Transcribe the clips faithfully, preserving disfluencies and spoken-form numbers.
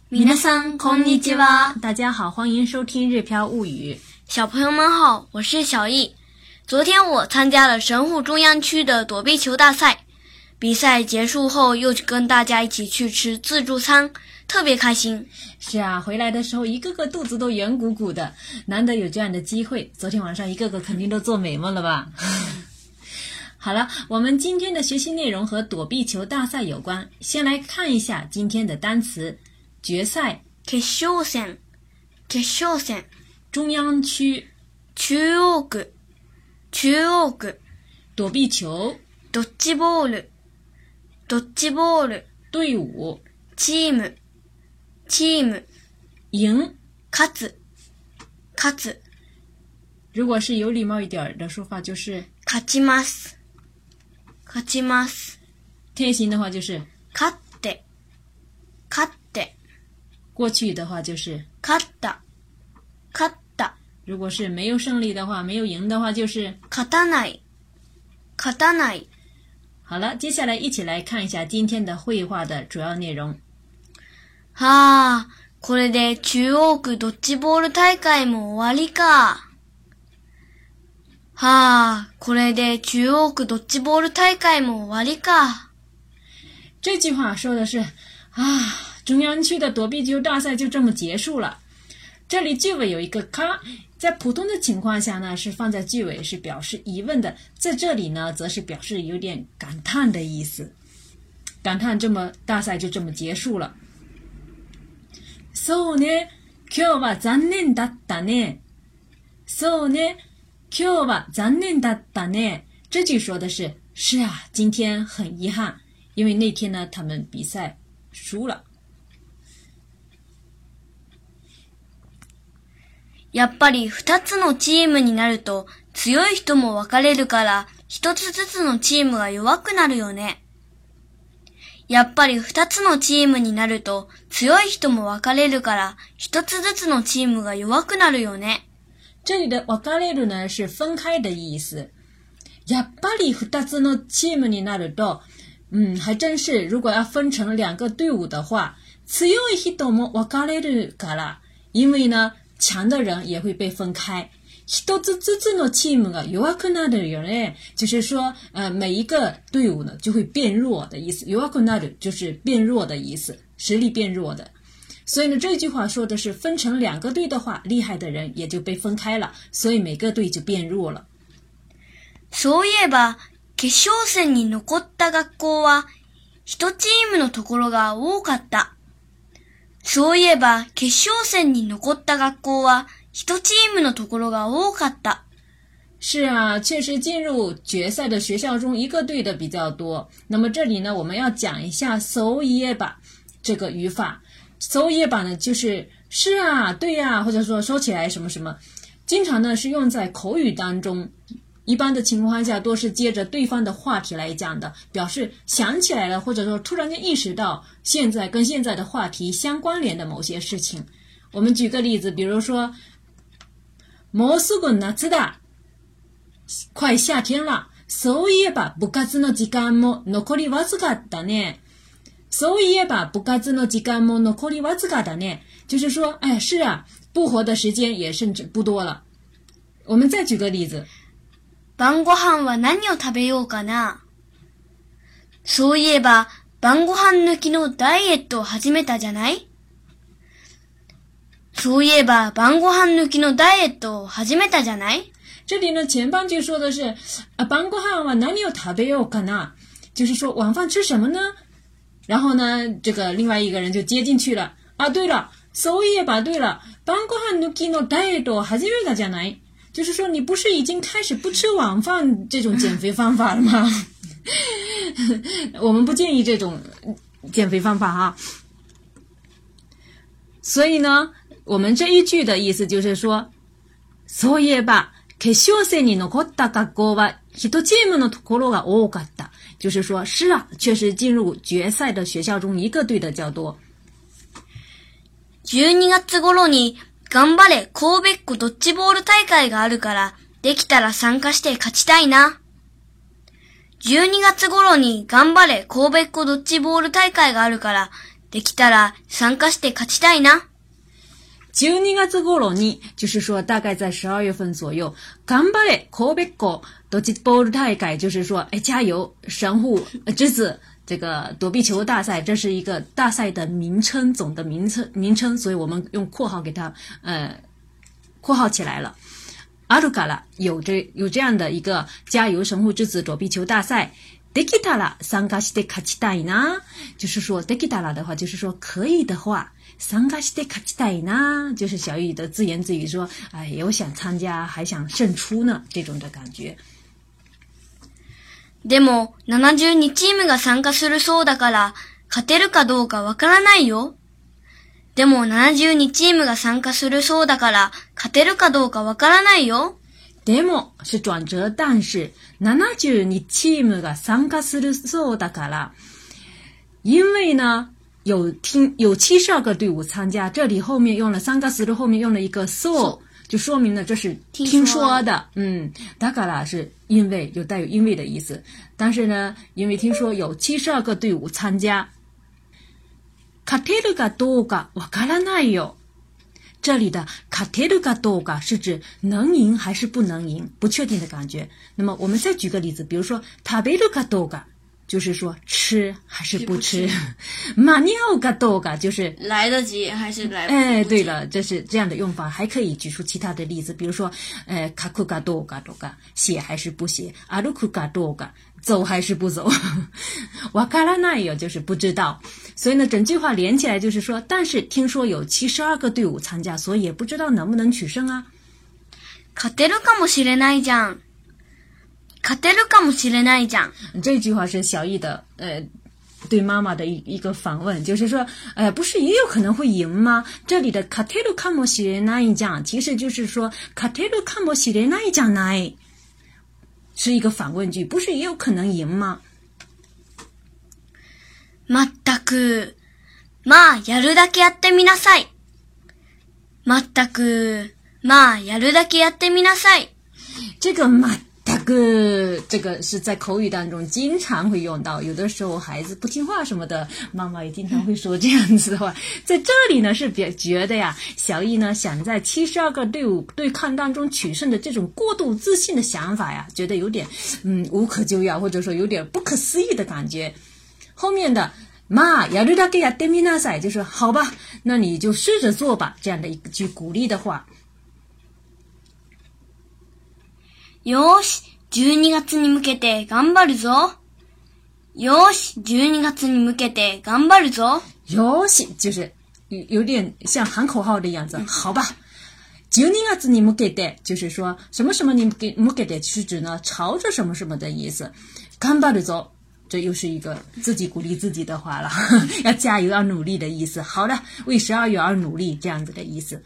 皆さんこんにちは。大家好，欢迎收听日飘物语。 小朋友们好，我是小易。昨天我参加了神户中央区的躲避球大赛，比赛结束后又跟大家一起去吃自助餐，特别开心。 是啊，回来的时候一个个肚子都圆鼓鼓的，难得有这样的机会。昨天晚上一个个肯定都做美梦了吧？好了，我们今天的学习内容和躲避球大赛有关。先来看一下今天的单词：决赛、 決勝戦、決勝戦、 中央区、 中央区、中央区、 躲避球、 ドッジボール、ドッジボール、 队伍、 チーム、チーム、 赢、 勝つ、勝つ。 如果是有礼貌一点的说法就是勝ちます、勝ちます。 贴心的话就是勝って、勝って。 过去的话就是勝った、勝った。 如果是没有胜利的话，没有赢的话就是勝たない、勝たない。 好了，接下来一起来看一下今天的绘画的主要内容。 はあ、これで中央区ドッジボール大会も終わりか。はあ、これで中央区ドッジボール大会も終わりか。 这句话说的是啊，中央区的躲避球大赛就这么结束了。这里句尾有一个卡，在普通的情况下呢是放在句尾，是表示疑问的，在这里呢则是表示有点感叹的意思，感叹这么大赛就这么结束了。そうね、今日は残念だったね。そうね、今日は残念だったね。这句说的是是啊，今天很遗憾，因为那天呢他们比赛输了。 やっぱり二つのチームになると強い人も分かれるから一つずつのチームが弱くなるよね。やっぱり二つのチームになると強い人も分かれるから一つずつのチームが弱くなるよね。 这里的分かれる呢是分开的意思。やっぱり二つのチームになると，嗯，还真是，如果要分成两个队伍的话，強い人も分かれるから，因为呢。强的人也会被分开。一つずつのチームが弱くなるよね，就是说，呃，每一个队伍呢就会变弱的意思。弱くなる就是变弱的意思，实力变弱的。所以呢，这句话说的是分成两个队的话，厉害的人也就被分开了，所以每个队就变弱了。 そういえば、決勝戦に残った学校は一チームのところが多かった。そういえば、決勝戦に残った学校は一チームのところが多かった。 是啊，确实进入决赛的学校中一个队的比较多。那么这里呢，我们要讲一下そういえば这个语法。そういえば呢，就是是啊，对啊，或者说说起来什么什么，经常呢是用在口语当中。一般的情况下都是接着对方的话题来讲的，表示想起来了，或者说突然间意识到现在跟现在的话题相关联的某些事情。我们举个例子，比如说もうすぐ夏だ，快夏天了。そういえば部活の時間も残りわずかだね。そういえば部活の時間も残りわずかだね。就是说，哎，是啊，不活的时间也甚至不多了。我们再举个例子。 晩ご飯は何を食べようかな。そういえば、晩ご飯抜きのダイエットを始めたじゃない？そういえば、晩ご飯抜きのダイエットを始めたじゃない？ 这里呢，前半句说的是，啊，晩ご飯は何を食べようかな，就是说晚饭吃什么呢？然后呢，这个另外一个人就接进去了。啊，对了，そういえば对了，晩ご飯抜きのダイエットを始めたじゃない？就是说你不是已经开始不吃晚饭这种减肥方法了吗？我们不建议这种减肥方法哈。所以呢，我们这一句的意思就是说，そういえば決勝戦に残った学校は一チームのところが多かった。就是说，是啊，确实进入决赛的学校中一个队的较多。 じゅうにがつ頃に頑張れ神戸っ子ドッジボール大会があるから、できたら参加して勝ちたいな。じゅうにがつ頃に頑張れ神戸っ子ドッジボール大会があるから、 できたら参加して勝ちたいな。 じゅうにがつ頃に，就是说大概在十二月份左右，頑張れ神戸港ドッジボール大会，就是说，哎，加油，神户之子。这个躲避球大赛，这是一个大赛的名称，总的名称名称，所以我们用括号给它呃括号起来了。あるから有这有这样的一个加油神户之子躲避球大赛。できたら参加して勝ちたいな，就是说できたら的话，就是说可以的话，参加して勝ちたいな，就是小雨的自言自语说，哎，我想参加，还想胜出呢，这种的感觉。 でも、ななじゅうにチームが参加するそうだから、勝てるかどうかわからないよ。でも、ななじゅうにチームが参加するそうだから、勝てるかどうかわからないよ。 でも、是转折，但是、ななじゅうにチームが参加するそうだから、因为呢、有听有七十二个队伍参加，这里后面用了参加する后面用了一个そう。就说明了这是听说的，嗯，だから是因为有带有因为的意思，但是呢，因为听说有七十二个队伍参加，勝てるかどうかわからないよ。这里的勝てるかどうか是指能赢还是不能赢，不确定的感觉。那么我们再举个例子，比如说食べるかどうか。就是说吃还是不吃，間に合うかどうか就是来得及还是来不及。 哎，对了，这是这样的用法，还可以举出其他的例子，比如说，呃，書くかどうかとか，写还是不写，歩くかどうか，走还是不走，わからないよ就是不知道。所以呢，整句话连起来就是说，但是听说有七十二个队伍参加，所以也不知道能不能取胜啊。 勝てるかもしれないじゃん。勝てるかもしれないじゃん。 这句话是小易的呃对妈妈的一一个反问，就是说，呃，不是也有可能会赢吗？这里的勝てるかもしれないじゃん，其实就是说勝てるかもしれないじゃない，是一个反问句，不是也有可能赢吗？ まったく、まあやるだけやってみなさい。まったく、まあやるだけやってみなさい。 这个ま大哥，这个是在口语当中经常会用到，有的时候孩子不听话什么的，妈妈也经常会说这样子的话。在这里呢，是比觉得呀，小易呢想在七十二个队伍对抗当中取胜的这种过度自信的想法呀，觉得有点嗯无可救药，或者说有点不可思议的感觉。后面的まあやるだけやってみなさい，就是好吧，那你就试着做吧，这样的一句鼓励的话。 よーし、じゅうにがつに向けて頑張るぞ。よーし、じゅうにがつに向けて頑張るぞ。 よーし，就是有点像喊口号的样子，好吧。じゅうにがつに向けて，就是说什么什么に向けて，是指呢朝着什么什么的意思。頑張るぞ，这又是一个自己鼓励自己的话了，要加油，要努力的意思。好的，为十二月而努力，这样子的意思。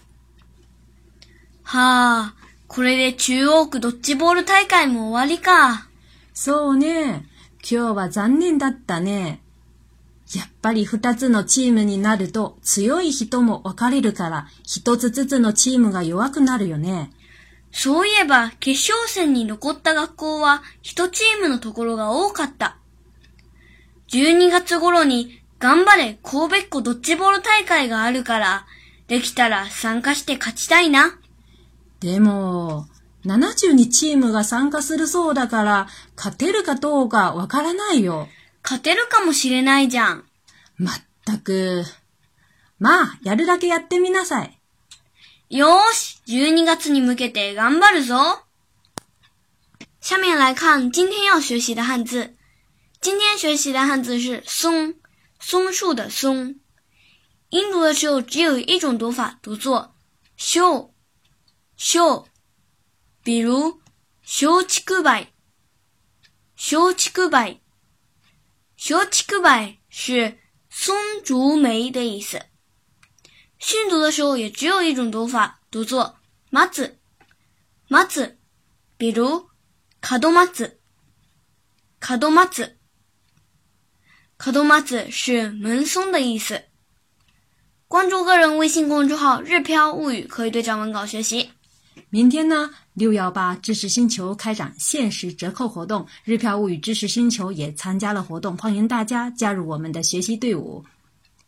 はあ。これで中央区ドッジボール大会も終わりか。 そうね。今日は残念だったね。やっぱり二つのチームになると強い人も分かれるから一つずつのチームが弱くなるよね。 そういえば決勝戦に残った学校は一チームのところが多かった。じゅうにがつ頃に頑張れ神戸っ子ドッジボール大会があるからできたら参加して勝ちたいな。 でも、ななじゅうにチームが参加するそうだから、勝てるかどうかわからないよ。 勝てるかもしれないじゃん。 まったく。まあ、やるだけやってみなさい。 よーし、じゅうにがつに向けて頑張るぞ。下面来看今天要学习的汉字。今天学习的汉字是松，松树的松。音读的时候只有一种读法，读作秀。秀，比如松竹梅，松竹梅，松竹梅是松竹梅的意思。训读的时候也只有一种读法，读作松子，松子，比如門松，門松，門松是门松的意思。关注个人微信公众号日飘物语，可以对照文稿学习。 明天呢，六一八知识星球开展限时折扣活动，日飘物语知识星球也参加了活动，欢迎大家加入我们的学习队伍。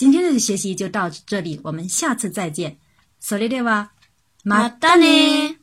今天的学习就到这里，我们下次再见。それでは、 またね。